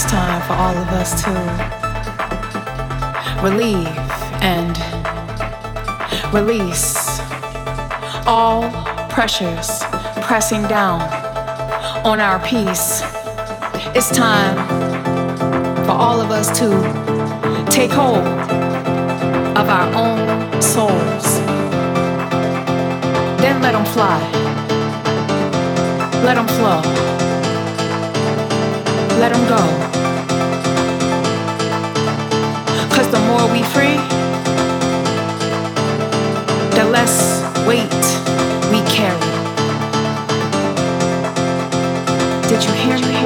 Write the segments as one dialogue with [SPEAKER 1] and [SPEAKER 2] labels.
[SPEAKER 1] it's time for all of us to relieve and release all pressures pressing down on our peace. It's time for all of us to take hold of our own souls. Then let them fly. Let them flow. Let them go. 'Cause the more we free, the less weight we carry. Did you hear me?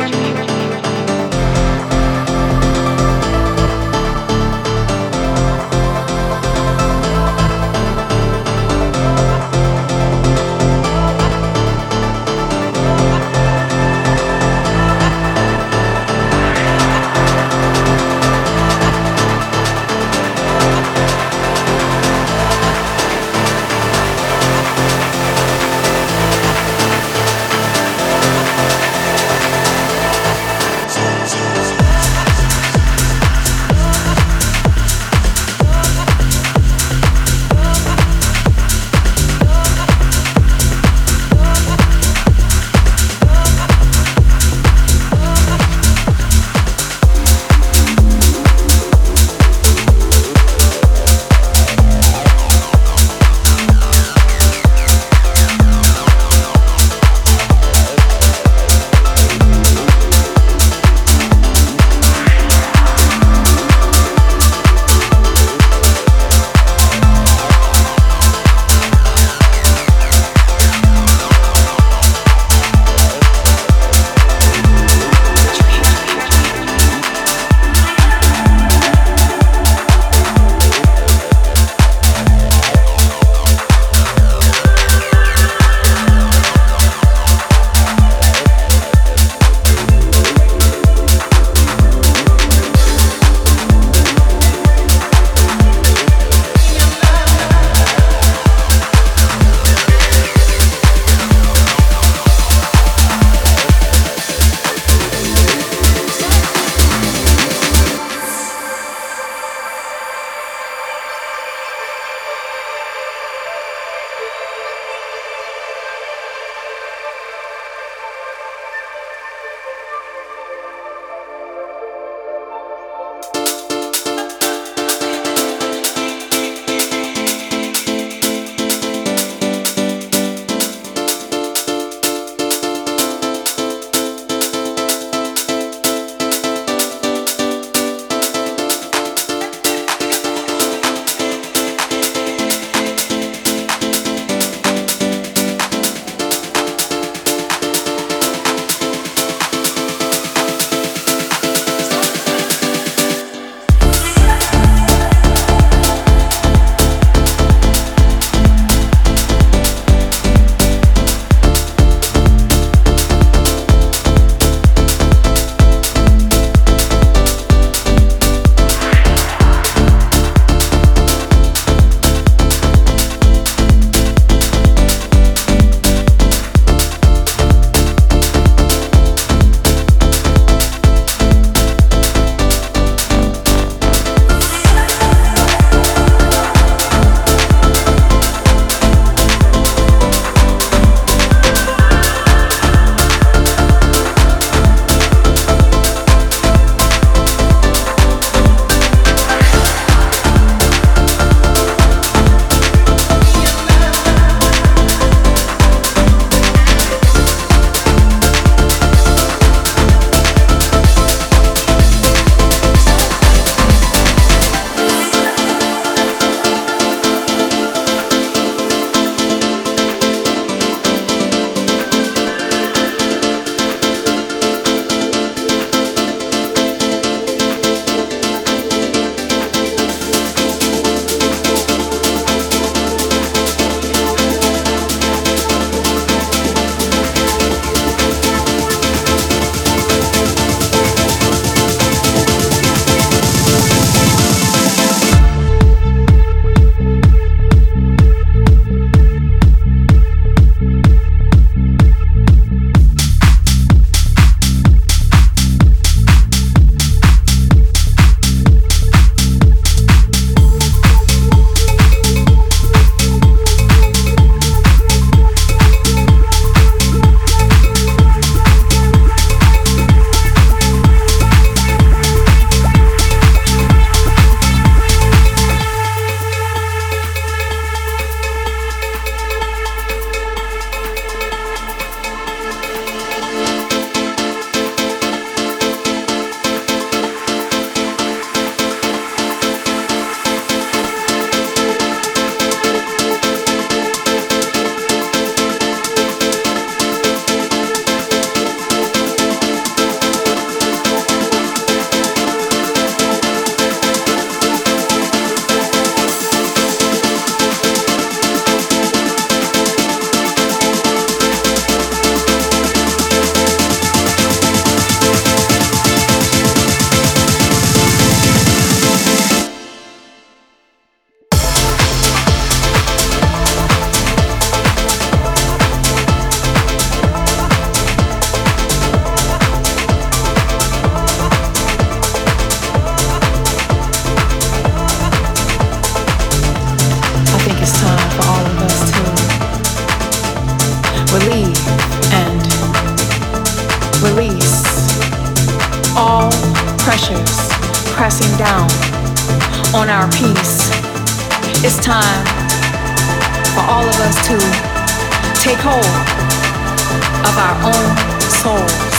[SPEAKER 1] pressing down on our peace. It's time for all of us to take hold of our own souls.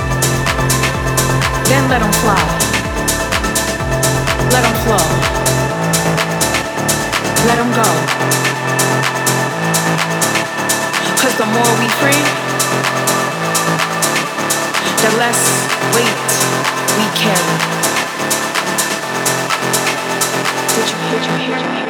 [SPEAKER 1] Then let them fly. Let them flow. Let them go. 'Cause the more we free, the less weight we carry. Did you hear?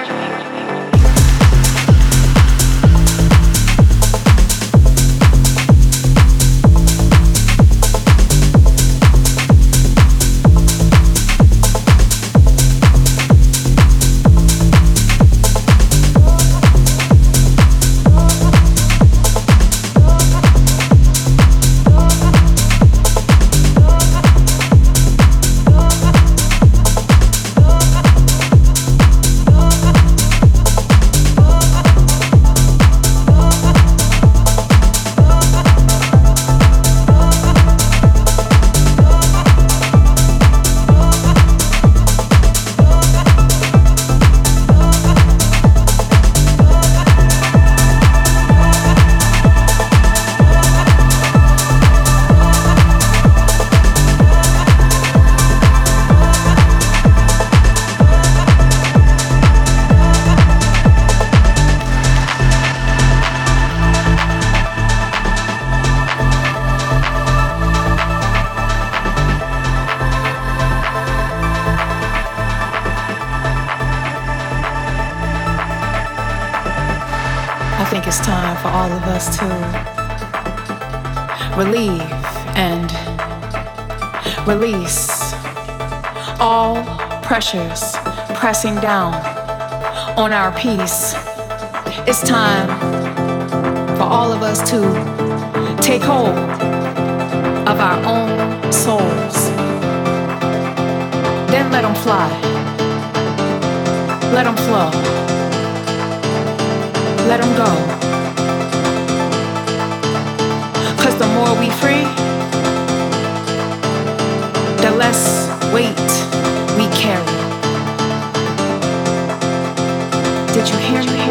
[SPEAKER 1] I think it's time for all of us to relieve and release all pressures pressing down on our peace. It's time for all of us to take hold of our own souls. Then let them fly. Let them flow. Let them go. 'Cause the more we free, the less weight we carry. Did you hear me?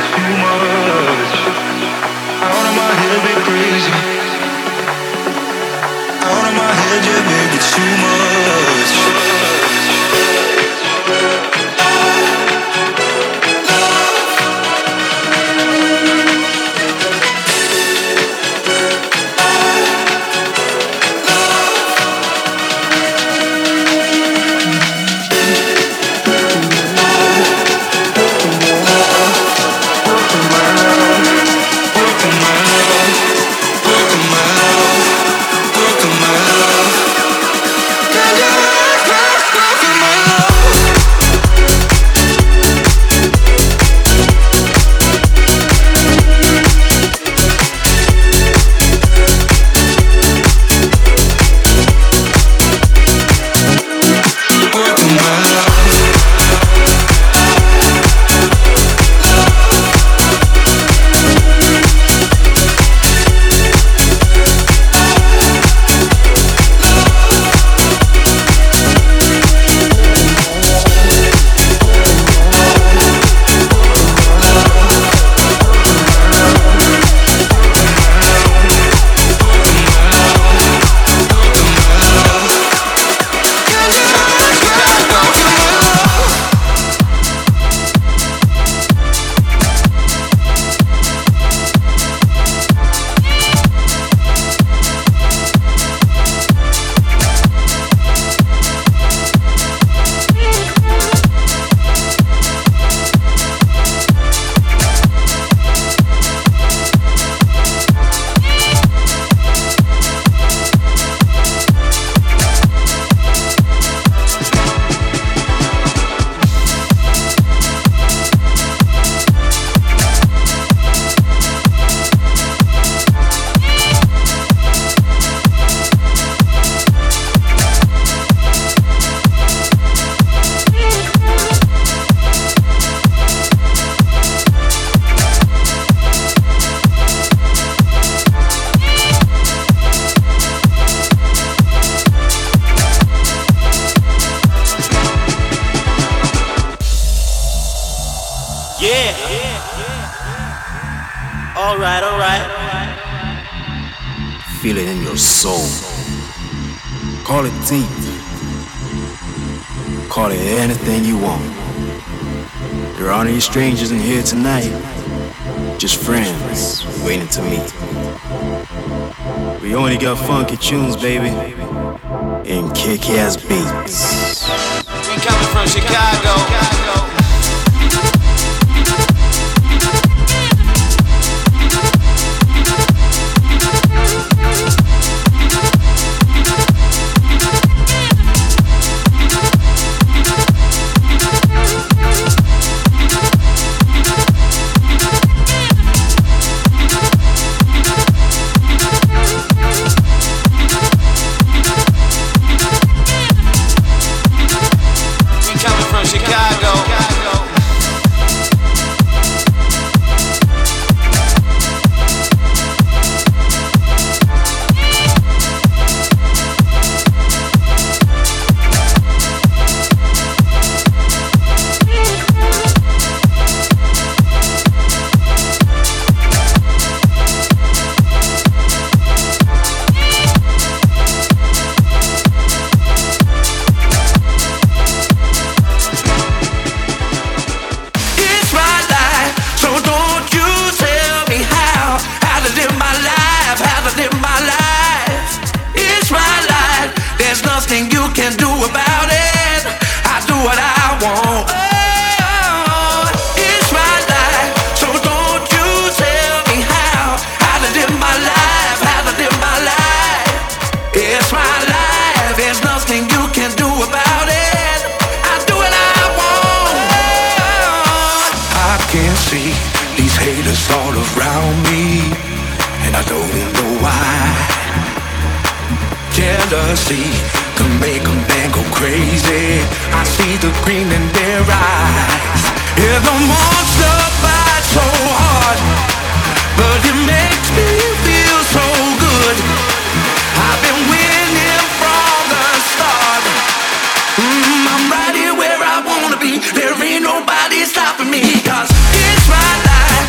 [SPEAKER 2] too much. Out of my head, be crazy. Out of my head, yeah, baby, too much.
[SPEAKER 3] Feel it in your soul. Call it deep. Call it anything you want. There aren't any strangers in here tonight. Just friends waiting to meet. We only got funky tunes, baby, and kick-ass beats.
[SPEAKER 4] We coming from Chicago. All around me, and I don't know why. Jealousy can make a man go crazy. I see the green in their eyes. Yeah, the monster bites so hard, but it makes me feel so good. I've been winning from the start. I'm right here where I wanna be. There ain't nobody stopping me, 'cause it's my life.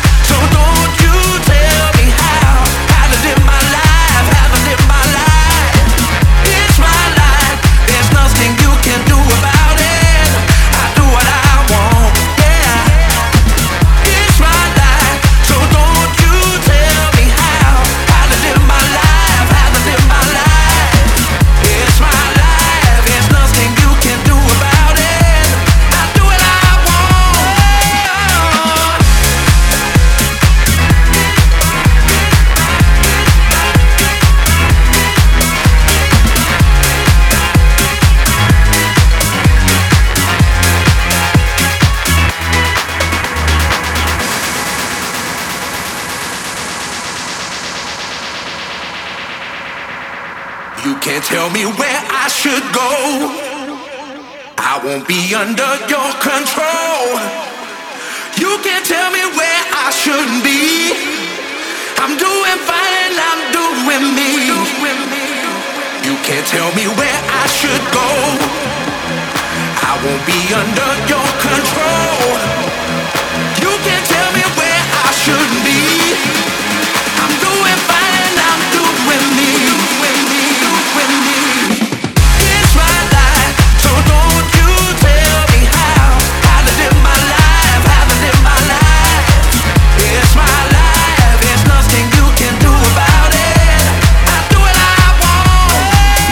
[SPEAKER 4] tell me where I should go. I won't be under your control. You can't tell me where I shouldn't be. I'm doing fine, I'm doing me. You can't tell me where I should go. I won't be under your control. You can't tell me where I shouldn't be. I'm doing fine, I'm doing me. It's my life, so don't you tell me how to live my life, how to live my life. It's my life, there's nothing you can do about it. I do what I want.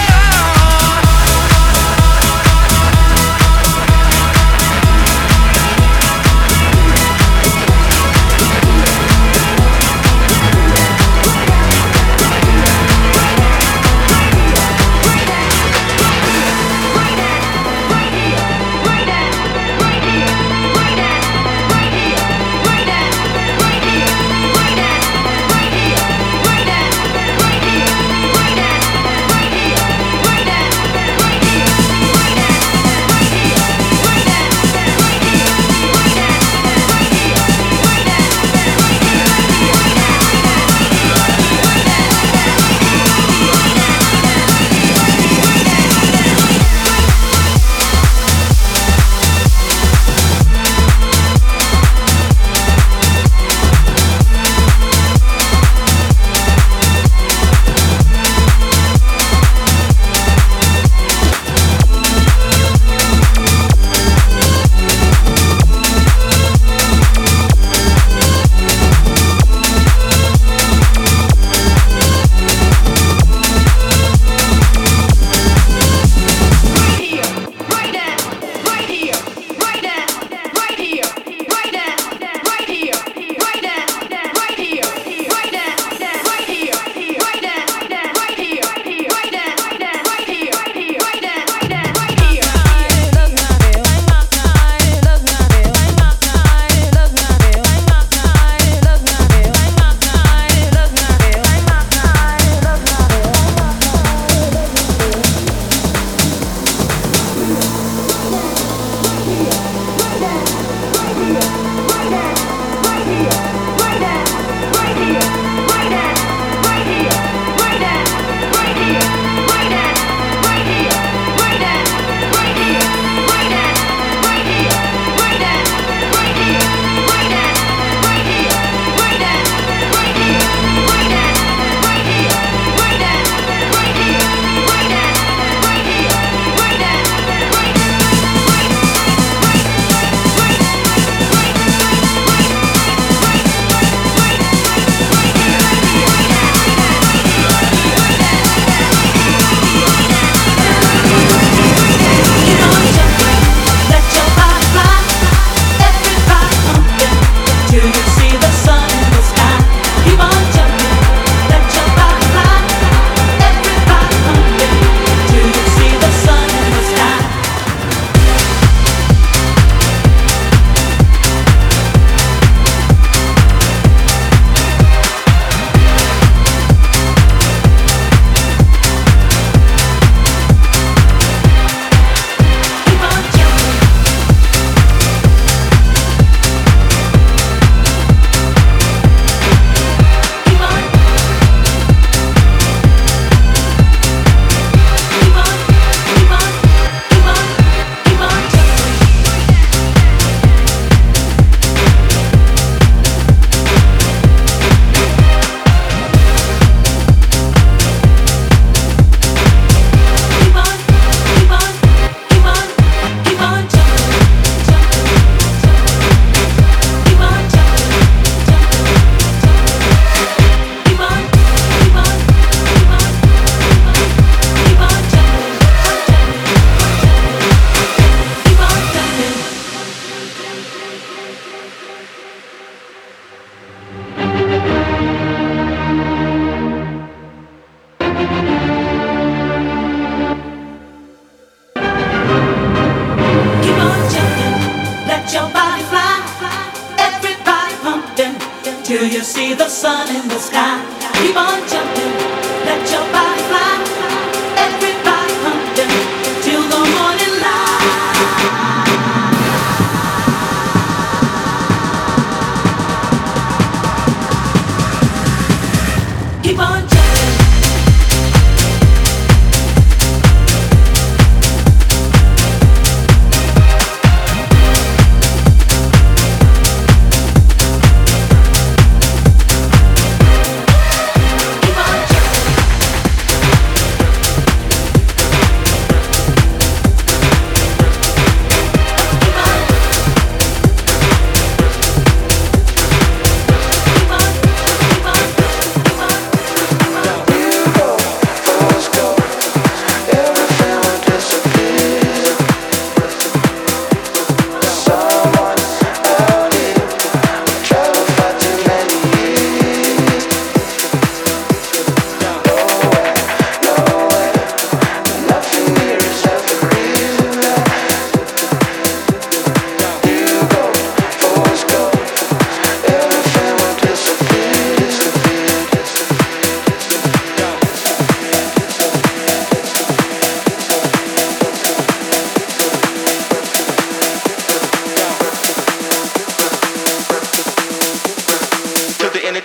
[SPEAKER 5] till you see the sun in the sky. Keep on jumping, let your body fly. Everybody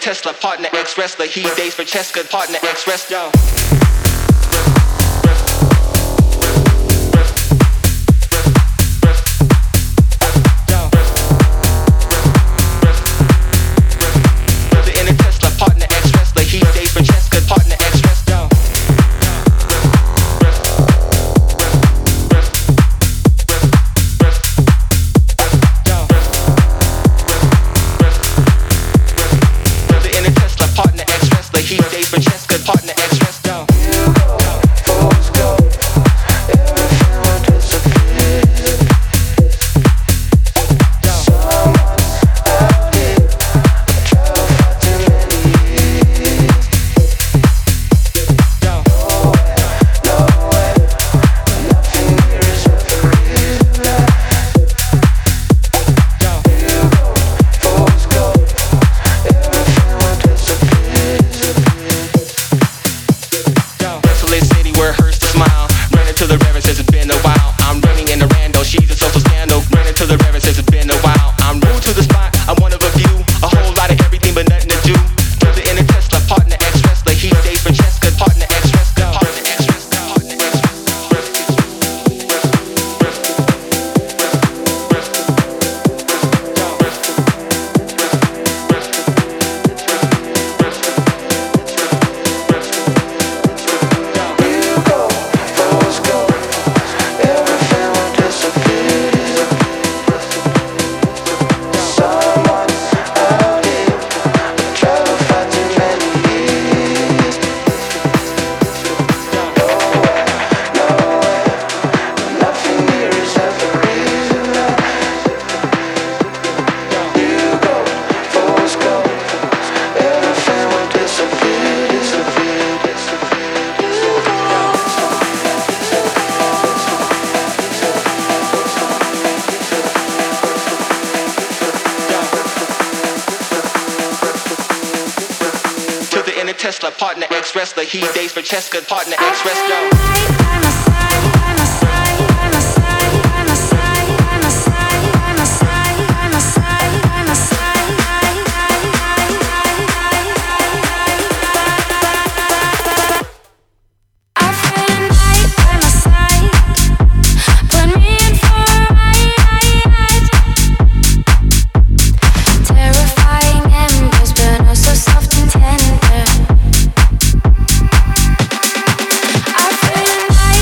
[SPEAKER 6] Tesla, partner ex-wrestler. He dates Francesca, partner ex-wrestler. Tesla, partner ex-wrestler. He dates Francesca, partner ex-wrestler.
[SPEAKER 7] I feel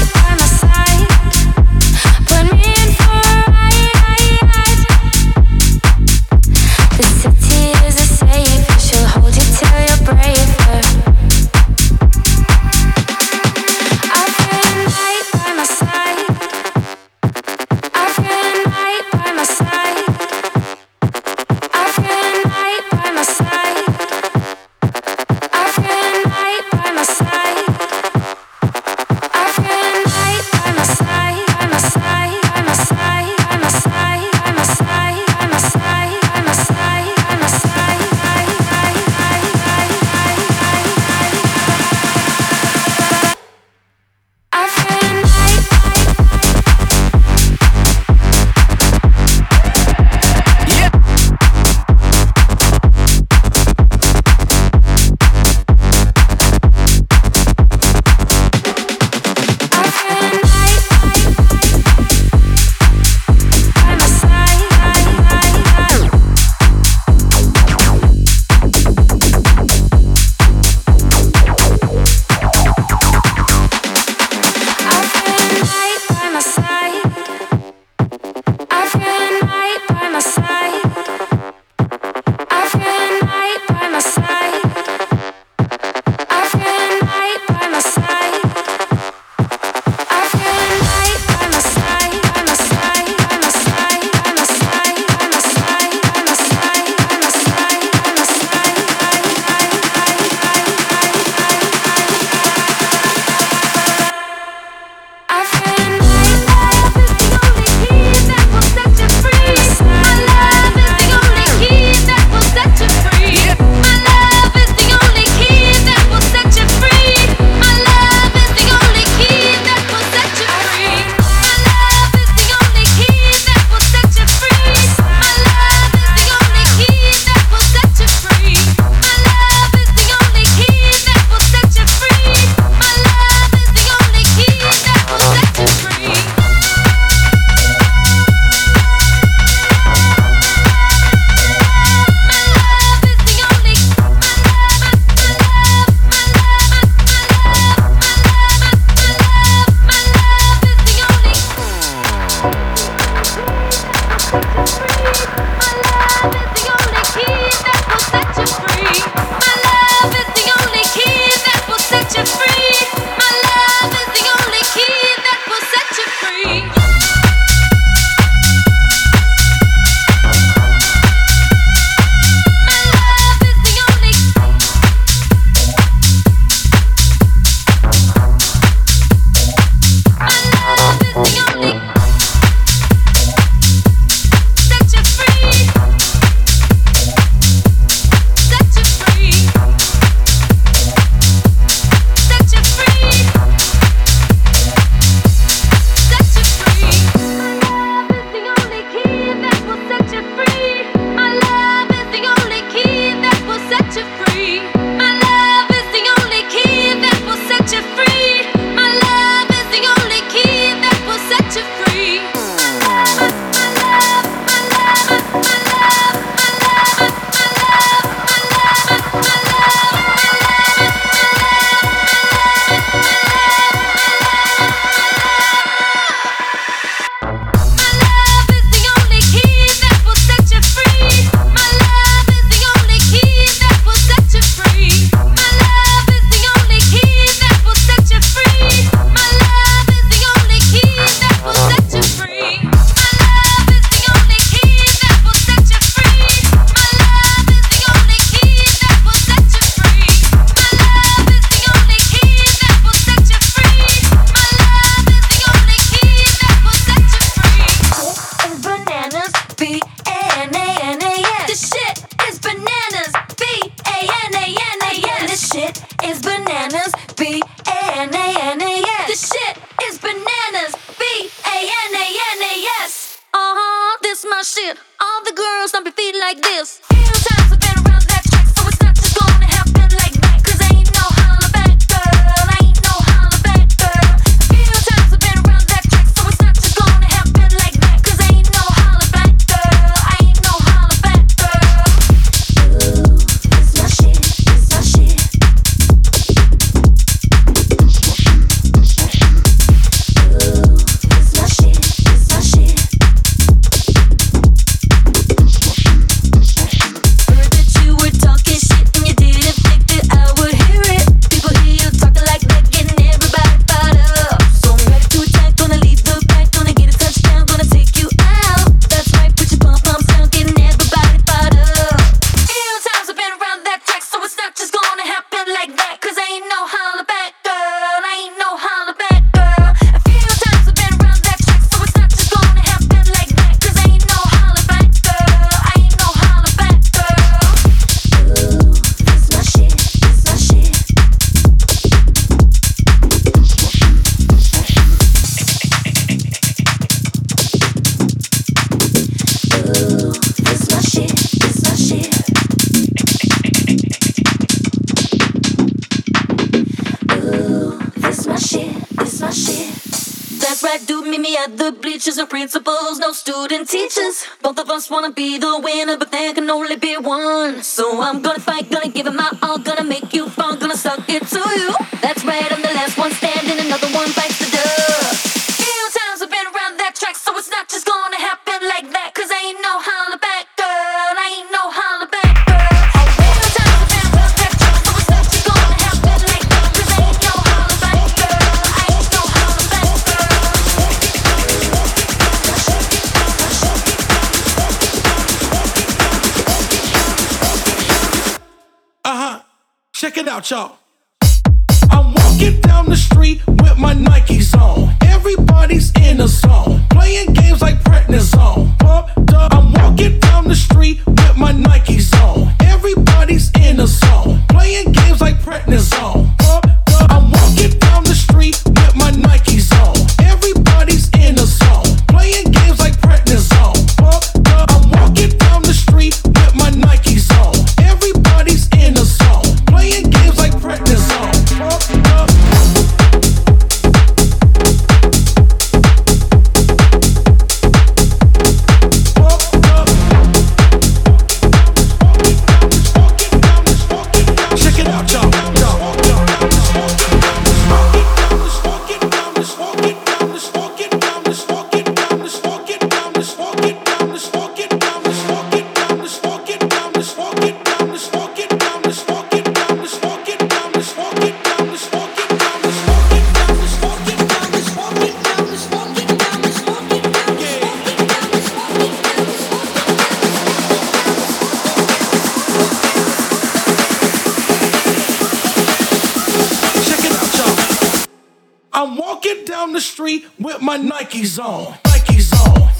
[SPEAKER 7] this my shit. All the girls stomp your feet like this. Few times I've been around that track, so it's not just gonna happen like that. 'Cause ain't no holla back, girl. Ain't no holla back, girl. Few times I've been around that track, so it's not just gonna happen like that. 'Cause ain't no holla back, girl. Ain't no holla back, girl. Ooh, this my shit, this my shit. And principals, no student teachers. Both of us wanna be the winner, but there can only be one. So I'm gonna fight, gonna give it my all, gonna make you fall, gonna suck it to you. That's right, I'm the last one standing, another one bites the dust. Few times I've been around that track, so it's not just gonna happen like that. 'Cause ain't no holla back, girl. Ain't no holla back, girl. Few times I've been around that track, so it's not just gonna happen like that. 'Cause ain't no holla back, girl. Ain't no holla back, girl.
[SPEAKER 4] Check it out, y'all. I'm walking down the street with my Nikes on. Everybody's in a zone, playing games like prednisone. Pumped up. I'm walking down the street with my Nikes on. Everybody's in a zone, playing games like prednisone. Pumped up. I'm walking down the street with my Nikes on. Everybody's in a zone, playing games like prednisone. Pumped up. I'm walking down the street with my Nikes on. Everybody's in a zone, playing games like prednisone. Pumped up. Check it out, y'all. I'm walking down the street with my Nikes on. Nikes on.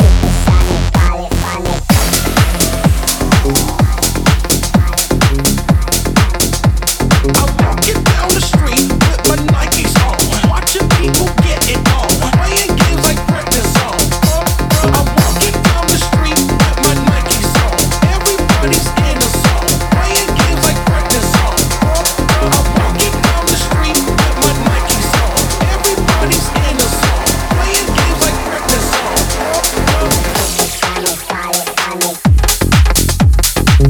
[SPEAKER 4] I'm walking down the street with my Nikes on. Watching people get it on. Playing games like prednisone. I'm walking down the street with my Nikes on. Everybody's in a zone. Playing games like prednisone. I'm walking down the street with my Nikes on. Everybody's in a zone. Playing games like prednisone.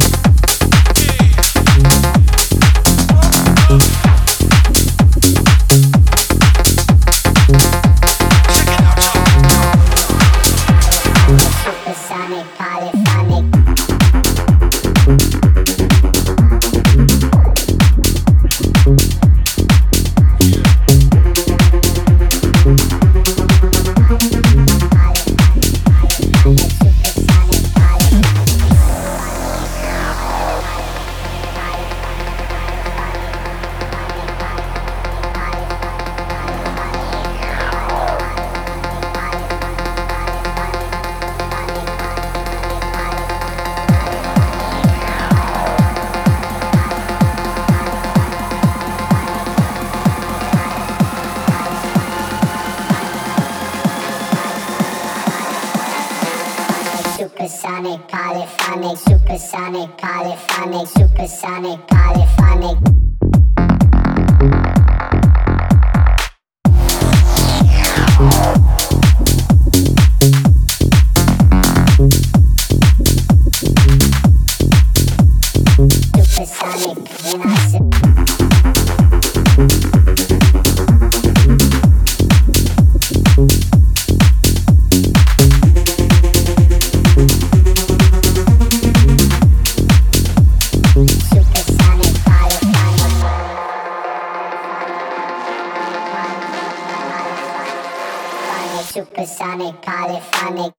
[SPEAKER 8] supersonic, polyphonic, supersonic, polyphonic, supersonic, polyphonic. Supersonic, when I say supersonic, polyphonic.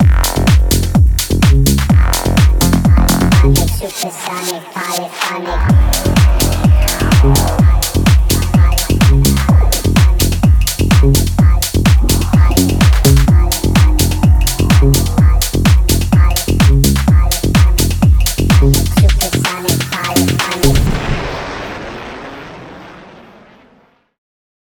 [SPEAKER 8] Supersonic, polyphonic.